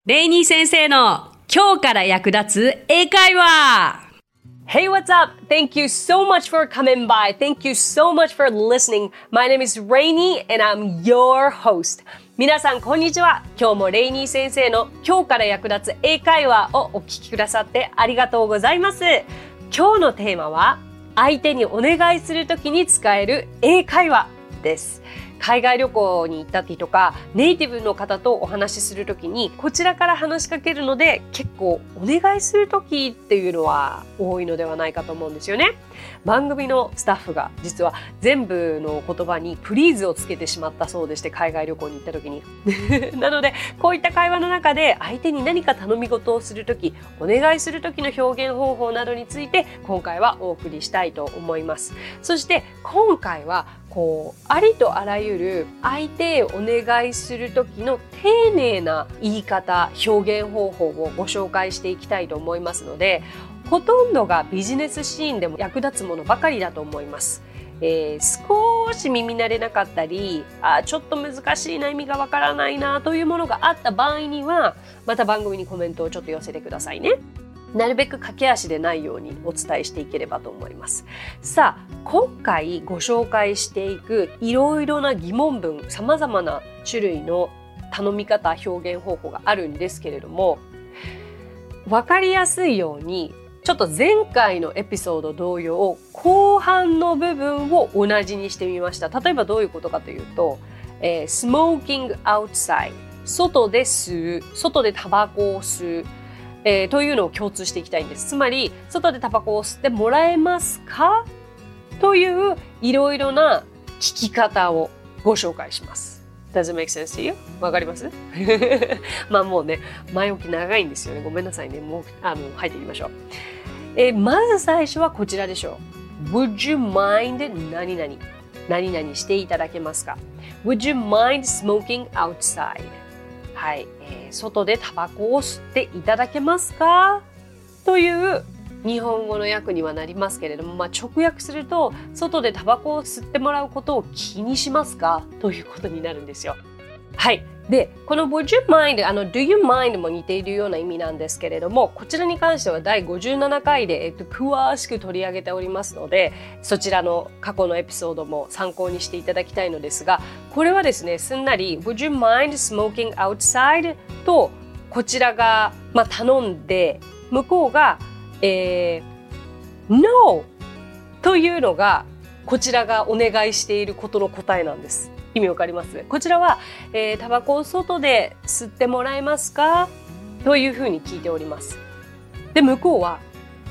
レイニー先生の今日から役立つ英会話。 Hey, what's up? Thank you so much for coming by. Thank you so much for listening. My name is Rainy and I'm your host. 皆さんこんにちは。今日もレイニー先生の今日から役立つ英会話をお聞きくださってありがとうございます。今日のテーマは相手にお願いするときに使える英会話です。海外旅行に行ったりとかネイティブの方とお話しするときにこちらから話しかけるので結構お願いするときっていうのは多いのではないかと思うんですよね。番組のスタッフが実は全部の言葉にプリーズをつけてしまったそうでして、海外旅行に行った時になのでこういった会話の中で相手に何か頼み事をするとき、お願いする時の表現方法などについて今回はお送りしたいと思います。そして今回はありとあらゆる相手へお願いする時の丁寧な言い方、表現方法をご紹介していきたいと思いますので、ほとんどがビジネスシーンでも役立つものばかりだと思います。少し耳慣れなかったり、ちょっと難しいな、意味がわからないなというものがあった場合には、また番組にコメントをちょっと寄せてくださいね。なるべく駆け足でないようにお伝えしていければと思います。さあ、今回ご紹介していくいろいろな疑問文、様々な種類の頼み方、表現方法があるんですけれども、わかりやすいようにちょっと前回のエピソード同様、後半の部分を同じにしてみました。例えばどういうことかというと、smoking outside、外で吸う、外でタバコを吸う、というのを共通していきたいんです。つまり、外でタバコを吸ってもらえますかといういろいろな聞き方をご紹介します。Does it make sense to you? わかりますまあもうね、前置き長いんですよね。ごめんなさいね。もう入っていきましょう。まず最初はこちらでしょう。Would you mind 何々？何々していただけますか？ Would you mind smoking outside? はい、外でタバコを吸っていただけますかという日本語の訳にはなりますけれども、直訳すると外でタバコを吸ってもらうことを気にしますかということになるんですよ。はい。で、この Would you mind、Do you mind も似ているような意味なんですけれども、こちらに関しては第57回で、詳しく取り上げておりますので、そちらの過去のエピソードも参考にしていただきたいのですが、これはですね、すんなり Would you mind smoking outside とこちらが、頼んで、向こうが、No というのがこちらがお願いしていることの答えなんです。意味わかります？こちらは、タバコを外で吸ってもらえますかというふうに聞いております。で、向こうは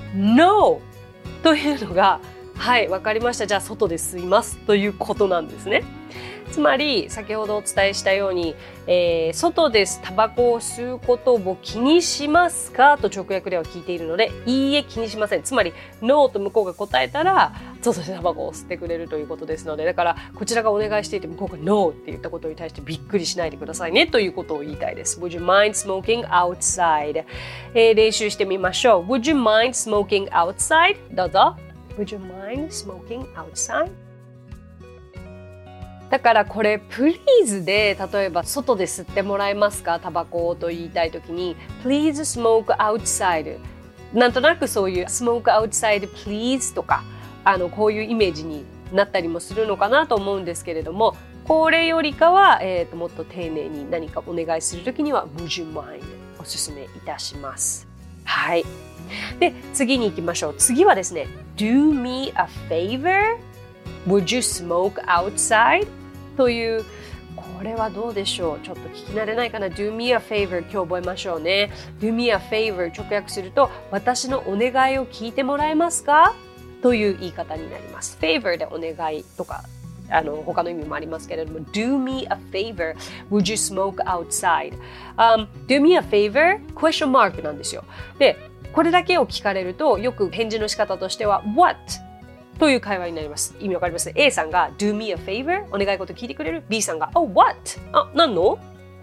No というのが、はい、わかりました。じゃあ外で吸いますということなんですね。つまり先ほどお伝えしたように、外でタバコを吸うことを気にしますかと直訳では聞いているので、いいえ気にしません。つまり No と向こうが答えたら外でタバコを吸ってくれるということですので、だからこちらがお願いしていて向こうが No って言ったことに対してびっくりしないでくださいねということを言いたいです。Would you mind smoking outside？練習してみましょう。Would you mind smoking outside？ どうぞ。Would you mind smoking outside？だからこれ please で例えば外で吸ってもらえますかタバコをと言いたいときに please smoke outside なんとなくそういう smoke outside please とかこういうイメージになったりもするのかなと思うんですけれども、これよりかは、もっと丁寧に何かお願いするときには would you mind おすすめいたします。はい。で次に行きましょう。次はですね do me a favor?Would you smoke outside? という、これはどうでしょう。ちょっと聞き慣れないかな。Do me a favor 今日覚えましょうね。Do me a favor 直訳すると私のお願いを聞いてもらえますかという言い方になります。favor でお願いとか他の意味もありますけれども Do me a favor Would you smoke outside?、do me a favor? question mark なんですよ。で、これだけを聞かれるとよく返事の仕方としては What?という会話になります。意味わかります？ A さんが Do me a favor? お願い事聞いてくれる？ B さんが Oh, what? 何の？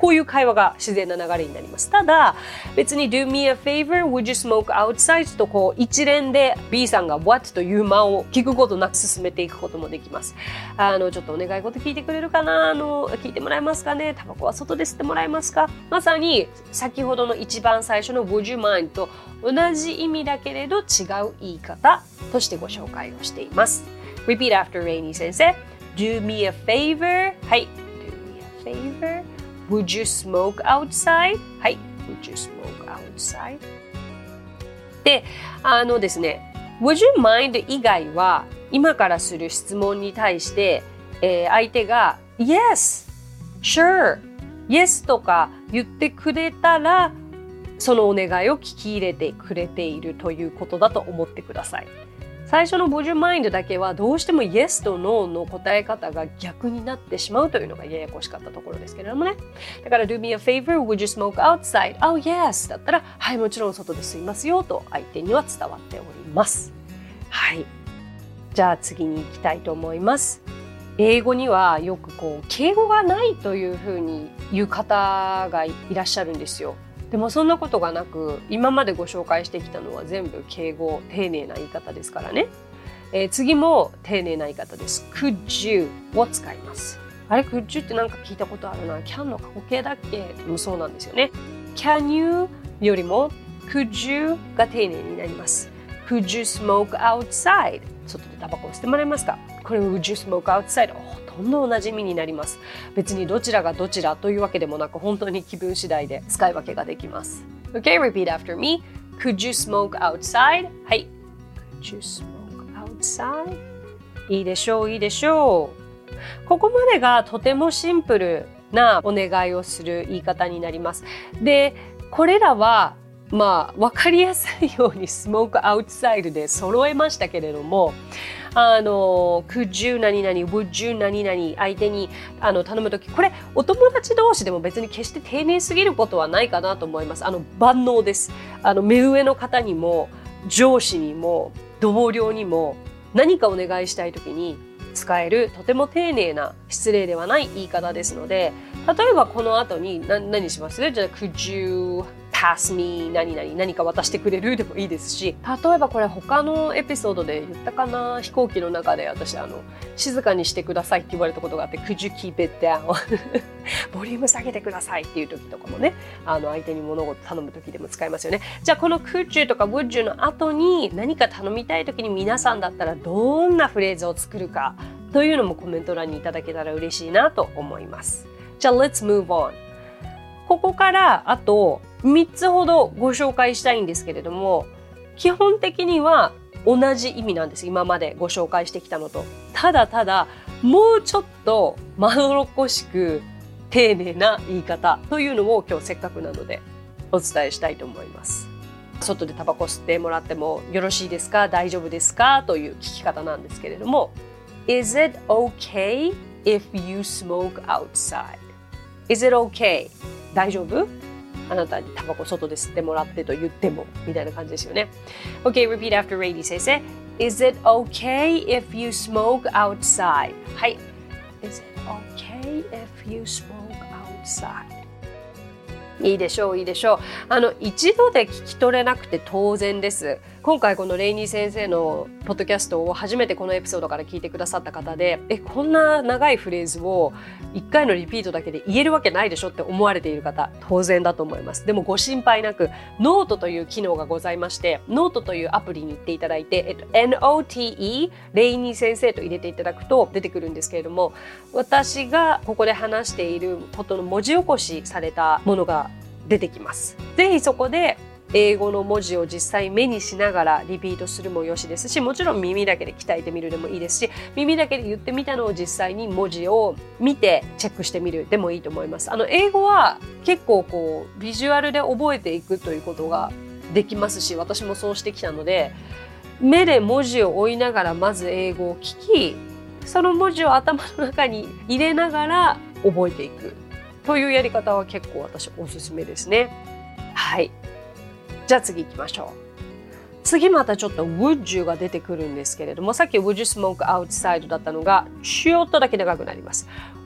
こういう会話が自然な流れになります。ただ、別に Do me a favor, would you smoke outside? とこう一連で B さんが What という間を聞くことなく進めていくこともできます。ちょっとお願い事聞いてくれるかな？聞いてもらえますかね？タバコは外で吸ってもらえますか？まさに先ほどの一番最初の Would you mind と同じ意味だけれど違う言い方としてご紹介をしています。Repeat after Rainy 先生。Do me a favor. はい。Do me a favor.Would you smoke outside? はい。Would you smoke outside? で、ですね、Would you mind 以外は、今からする質問に対して、相手が Yes, Sure, Yes とか言ってくれたら、そのお願いを聞き入れてくれているということだと思ってください。最初の Would you mind だけはどうしても Yes と No の答え方が逆になってしまうというのがややこしかったところですけれどもね。だから Do me a favor, would you smoke outside? Oh yes だったらはいもちろん外で吸いますよと相手には伝わっております。はい。じゃあ次に行きたいと思います。英語にはよくこう敬語がないというふうに言う方がいらっしゃるんですよ。でもそんなことがなく今までご紹介してきたのは全部敬語丁寧な言い方ですからね、次も丁寧な言い方です。 Could you を使います。あれ Could you ってなんか聞いたことあるな。 Can の過去形だっけ？もそうなんですよね。 Can you よりも Could you が丁寧になります。 Could you smoke outside? 外でタバコを吸ってもらえますか？これ Would you smoke outside? ほとんど同じ意味になります。別にどちらがどちらというわけでもなく本当に気分次第で使い分けができます。 Okay, repeat after me. Could you smoke outside? はい。Could you smoke outside? いいでしょう、いいでしょう。ここまでがとてもシンプルなお願いをする言い方になります。で、これらは分かりやすいようにスモークアウトサイドで揃えましたけれども、could you 何々 would you 何々相手に頼むとき、これお友達同士でも別に決して丁寧すぎることはないかなと思います。万能です。目上の方にも上司にも同僚にも何かお願いしたいときに使えるとても丁寧な失礼ではない言い方ですので、例えばこの後に何します？じゃあ could you pass me 何か渡してくれるでもいいですし、例えばこれ他のエピソードで言ったかな、飛行機の中で私静かにしてくださいって言われたことがあって Could you keep it down ボリューム下げてくださいっていう時とかもね、相手に物事頼む時でも使いますよね。じゃあこの Could you とか Would you の後に何か頼みたい時に皆さんだったらどんなフレーズを作るかというのもコメント欄にいただけたら嬉しいなと思います。じゃあ Let's move on。 ここからあと3つほどご紹介したいんですけれども、基本的には同じ意味なんです。今までご紹介してきたのと。ただもうちょっとまどろっこしく丁寧な言い方というのを今日せっかくなのでお伝えしたいと思います。外でタバコ吸ってもらってもよろしいですか？大丈夫ですか？という聞き方なんですけれども、 Is it okay if you smoke outside? Is it okay? 大丈夫？あなたにタバコ外で吸ってもらってと言ってもみたいな感じですよね。Okay, repeat after Rainy 先生。Is it okay if you smoke outside? はい。Is it okay if you smoke outside? いいでしょう、いいでしょう。一度で聞き取れなくて当然です。今回このレイニー先生のポッドキャストを初めてこのエピソードから聞いてくださった方で、こんな長いフレーズを1回のリピートだけで言えるわけないでしょって思われている方、当然だと思います。でもご心配なく、ノートという機能がございまして、ノートというアプリに行っていただいて、NOTE レイニー先生と入れていただくと出てくるんですけれども、私がここで話していることの文字起こしされたものが出てきます。ぜひそこで英語の文字を実際目にしながらリピートするもよしですし、もちろん耳だけで鍛えてみるでもいいですし、耳だけで言ってみたのを実際に文字を見てチェックしてみるでもいいと思います。英語は結構ビジュアルで覚えていくということができますし、私もそうしてきたので、目で文字を追いながらまず英語を聞き、その文字を頭の中に入れながら覚えていくというやり方は結構私おすすめですね。はい。じゃあ次行きましょう。次またちょっと Would you が出てくるんですけれども、さっき Would you smoke outside だったのがちょっとだけ長くなります。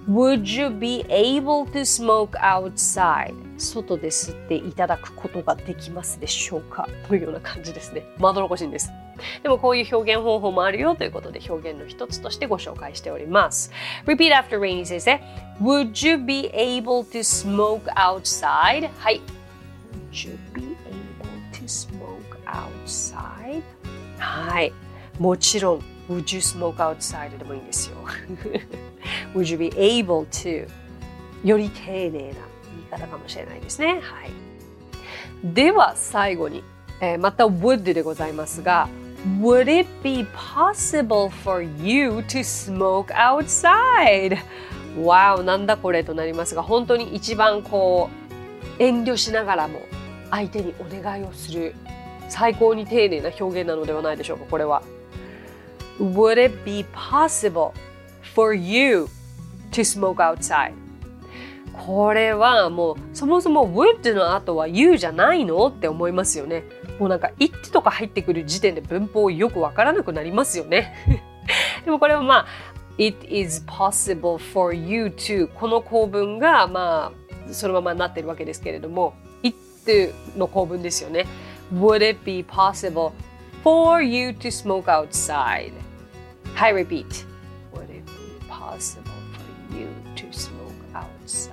Would you be able to smoke outside? 外で吸っていただくことができますでしょうかというような感じですね。まどろっこしいんです。でもこういう表現方法もあるよということで表現の一つとしてご紹介しております。Repeat after Rainy 先生。Would you be able to smoke outside? はい。Would you be able to smoke outside? はい。もちろん Would you smoke outside? でもいいんですよ。Would you be able to? より丁寧な言い方かもしれないですね。はい。では最後に、また would でございますが、Would it be possible for you to smoke outside? わお、なんだこれとなりますが、本当に一番遠慮しながらも相手にお願いをする最高に丁寧な表現なのではないでしょうか、これは。Would it be possible for you to smoke outside? これはもうそもそも would の後は you じゃないのって思いますよね。もうなんか it とか入ってくる時点で文法よくわからなくなりますよね。でもこれはまあ It is possible for you to この構文がまあそのままになってるわけですけれども it の構文ですよね。Would it be possible for you to smoke outside? はい、repeat. Would it be possible for you to smoke outside?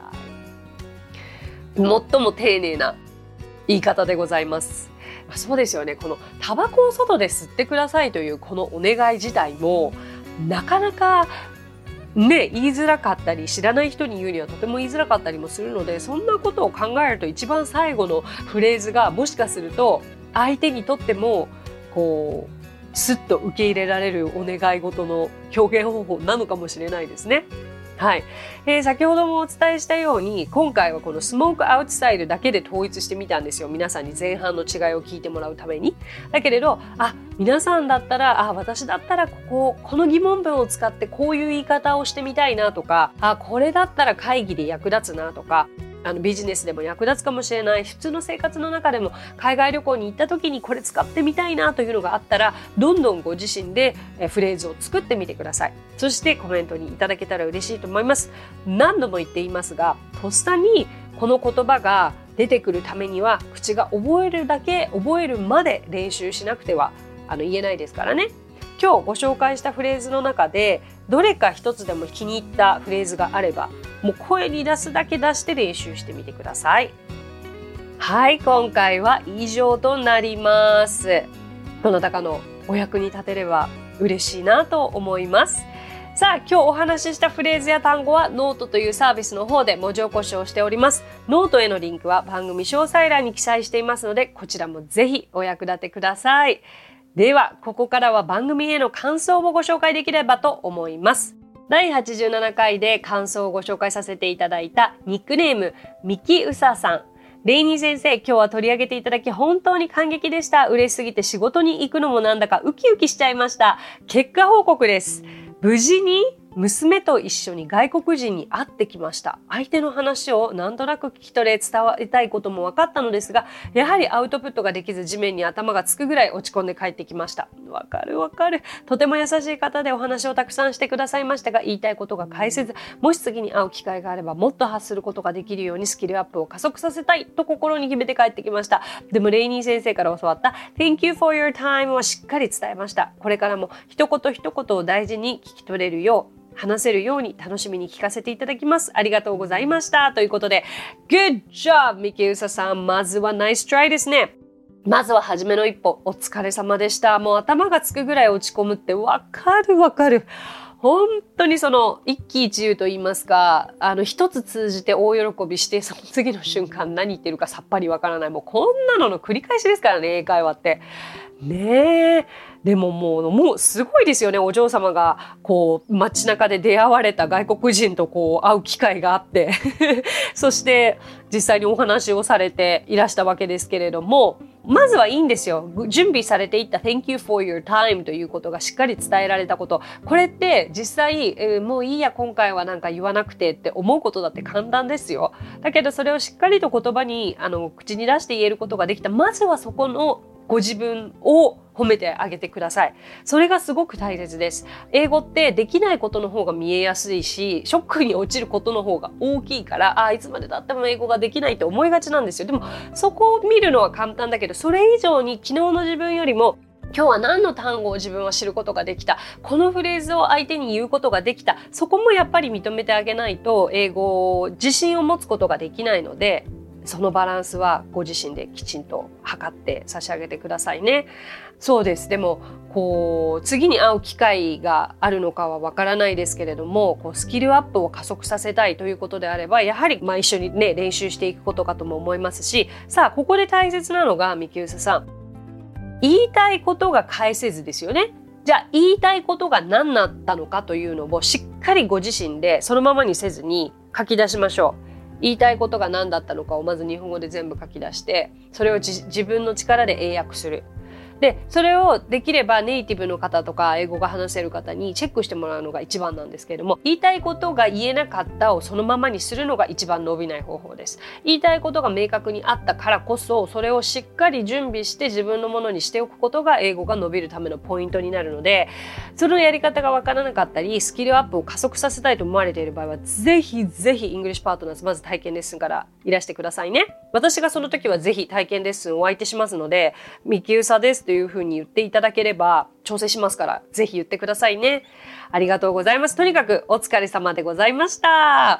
最も丁寧な言い方でございます。そうですよね。このタバコを外で吸ってくださいというこのお願い自体もなかなかね、言いづらかったり知らない人に言うにはとても言いづらかったりもするので、そんなことを考えると一番最後のフレーズがもしかすると相手にとってもスッと受け入れられるお願い事の表現方法なのかもしれないですね。はい、先ほどもお伝えしたように今回はこのスモークアウトサイドだけで統一してみたんですよ。皆さんに前半の違いを聞いてもらうために。だけれど皆さんだったら私だったらこの疑問文を使ってこういう言い方をしてみたいなとかこれだったら会議で役立つなとかビジネスでも役立つかもしれない普通の生活の中でも海外旅行に行った時にこれ使ってみたいなというのがあったらどんどんご自身でフレーズを作ってみてください。そしてコメントにいただけたら嬉しいと思います。何度も言っていますがとっさにこの言葉が出てくるためには口が覚えるだけ覚えるまで練習しなくては言えないですからね。今日ご紹介したフレーズの中でどれか一つでも気に入ったフレーズがあればもう声に出すだけ出して練習してみてください。はい、今回は以上となります。どなたかのお役に立てれば嬉しいなと思います。さあ、今日お話ししたフレーズや単語はノートというサービスの方で文字起こしをしております。ノートへのリンクは番組詳細欄に記載していますのでこちらもぜひお役立てください。ではここからは番組への感想をご紹介できればと思います。第87回で感想をご紹介させていただいたニックネームミキウサさん。レイニー先生、今日は取り上げていただき本当に感激でした。嬉しすぎて仕事に行くのもなんだかウキウキしちゃいました。結果報告です。無事に娘と一緒に外国人に会ってきました。相手の話をなんとなく聞き取れ伝わりたいことも分かったのですが、やはりアウトプットができず地面に頭がつくぐらい落ち込んで帰ってきました。わかる。とても優しい方でお話をたくさんしてくださいましたが、言いたいことが返せず、もし次に会う機会があればもっと発することができるようにスキルアップを加速させたいと心に決めて帰ってきました。でもレイニー先生から教わった Thank you for your time はしっかり伝えました。これからも一言一言を大事に聞き取れるよう話せるように楽しみに聞かせていただきます。ありがとうございました。ということで Good job ミキウサさん、まずはナイストライですね。まずは初めの一歩お疲れ様でした。もう頭がつくぐらい落ち込むってわかる。本当にその一喜一憂と言いますか一つ通じて大喜びしてその次の瞬間何言ってるかさっぱりわからない。もうこんなのの繰り返しですからね、英会話ってねえ。でももうすごいですよね。お嬢様が街中で出会われた外国人と会う機会があってそして実際にお話をされていらしたわけですけれども、まずはいいんですよ。準備されていった Thank you for your time ということがしっかり伝えられたこと。これって実際、もういいや今回はなんか言わなくてって思うことだって簡単ですよ。だけどそれをしっかりと言葉に口に出して言えることができた。まずはそこのご自分を褒めてあげてください。それがすごく大切です。英語ってできないことの方が見えやすいし、ショックに落ちることの方が大きいから、いつまで経っても英語ができないって思いがちなんですよ。でもそこを見るのは簡単だけど、それ以上に昨日の自分よりも今日は何の単語を自分は知ることができた、このフレーズを相手に言うことができた、そこもやっぱり認めてあげないと英語自信を持つことができないので、そのバランスはご自身できちんと測って差し上げてくださいね。そうです。でも次に会う機会があるのかはわからないですけれども、スキルアップを加速させたいということであれば、やはり一緒にね練習していくことかとも思いますし、さあここで大切なのが、ミキウサさん、言いたいことが返せずですよね。じゃあ言いたいことが何だったのかというのをしっかりご自身でそのままにせずに書き出しましょう。言いたいことが何だったのかをまず日本語で全部書き出して、それを自分の力で英訳する。で、それをできればネイティブの方とか英語が話せる方にチェックしてもらうのが一番なんですけれども、言いたいことが言えなかったをそのままにするのが一番伸びない方法です。言いたいことが明確にあったからこそ、それをしっかり準備して自分のものにしておくことが英語が伸びるためのポイントになるので、そのやり方がわからなかったり、スキルアップを加速させたいと思われている場合は、ぜひぜひイングリッシュパートナーズ、まず体験レッスンからいらしてくださいね。私がその時はぜひ体験レッスンをお相手しますので、ミキウサですというふうに言っていただければ調整しますから、ぜひ言ってくださいね。ありがとうございます。とにかくお疲れ様でございました。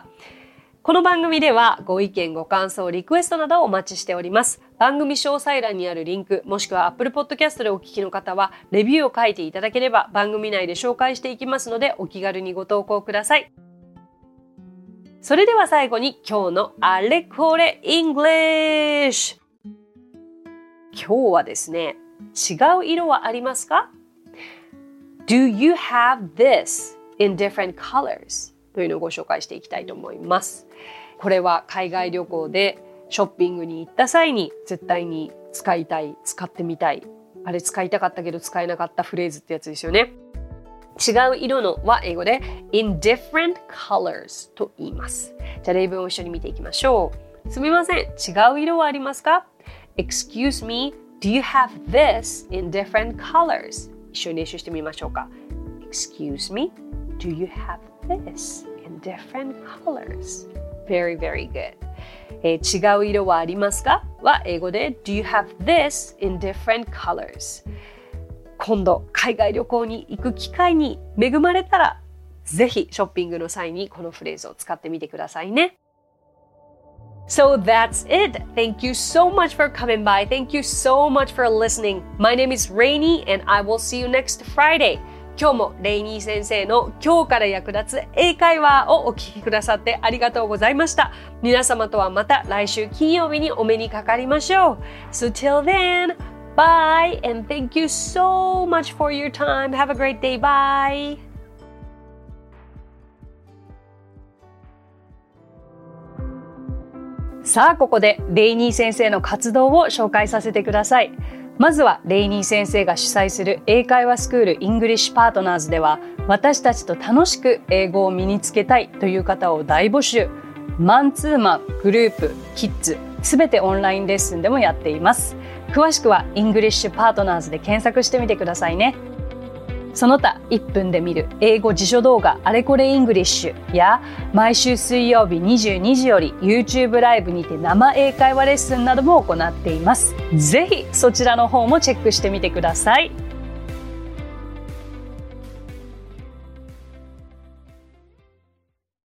この番組ではご意見、ご感想、リクエストなどをお待ちしております。番組詳細欄にあるリンク、もしくは Apple Podcast でお聞きの方はレビューを書いていただければ番組内で紹介していきますので、お気軽にご投稿ください。それでは最後に今日のあれこれ English。今日はですね、違う色はありますか？ Do you have this in different colors? というのをご紹介していきたいと思います。これは海外旅行でショッピングに行った際に絶対に使いたい、使ってみたい、あれ使いたかったけど使えなかったフレーズってやつですよね。違う色のは英語で in different colors と言います。じゃあ例文を一緒に見ていきましょう。すみません、違う色はありますか？ Excuse me, do you have this in different colors? 一緒に練習してみましょうか。Excuse me, do you have this in different colors? Very, very good. 違う色はありますかは英語で Do you have this in different colors? 今度海外旅行に行く機会に恵まれたら、ぜひショッピングの際にこのフレーズを使ってみてくださいね。So that's it. Thank you so much for coming by. Thank you so much for listening. My name is Rainy and I will see you next Friday. 今日もレイニー先生の今日から役立つ英会話をお聞きくださってありがとうございました。皆様とはまた来週金曜日にお目にかかりましょう。So till then, bye and thank you so much for your time. Have a great day. Bye. さあここでレイニー先生の活動を紹介させてください。まずはレイニー先生が主催する英会話スクールイングリッシュパートナーズでは、私たちと楽しく英語を身につけたいという方を大募集。マンツーマン、グループ、キッズ、すべてオンラインレッスンでもやっています。詳しくはイングリッシュパートナーズで検索してみてくださいね。その他1分で見る英語辞書動画あれこれイングリッシュや、毎週水曜日22時より YouTube ライブにて生英会話レッスンなども行っています。ぜひそちらの方もチェックしてみてください。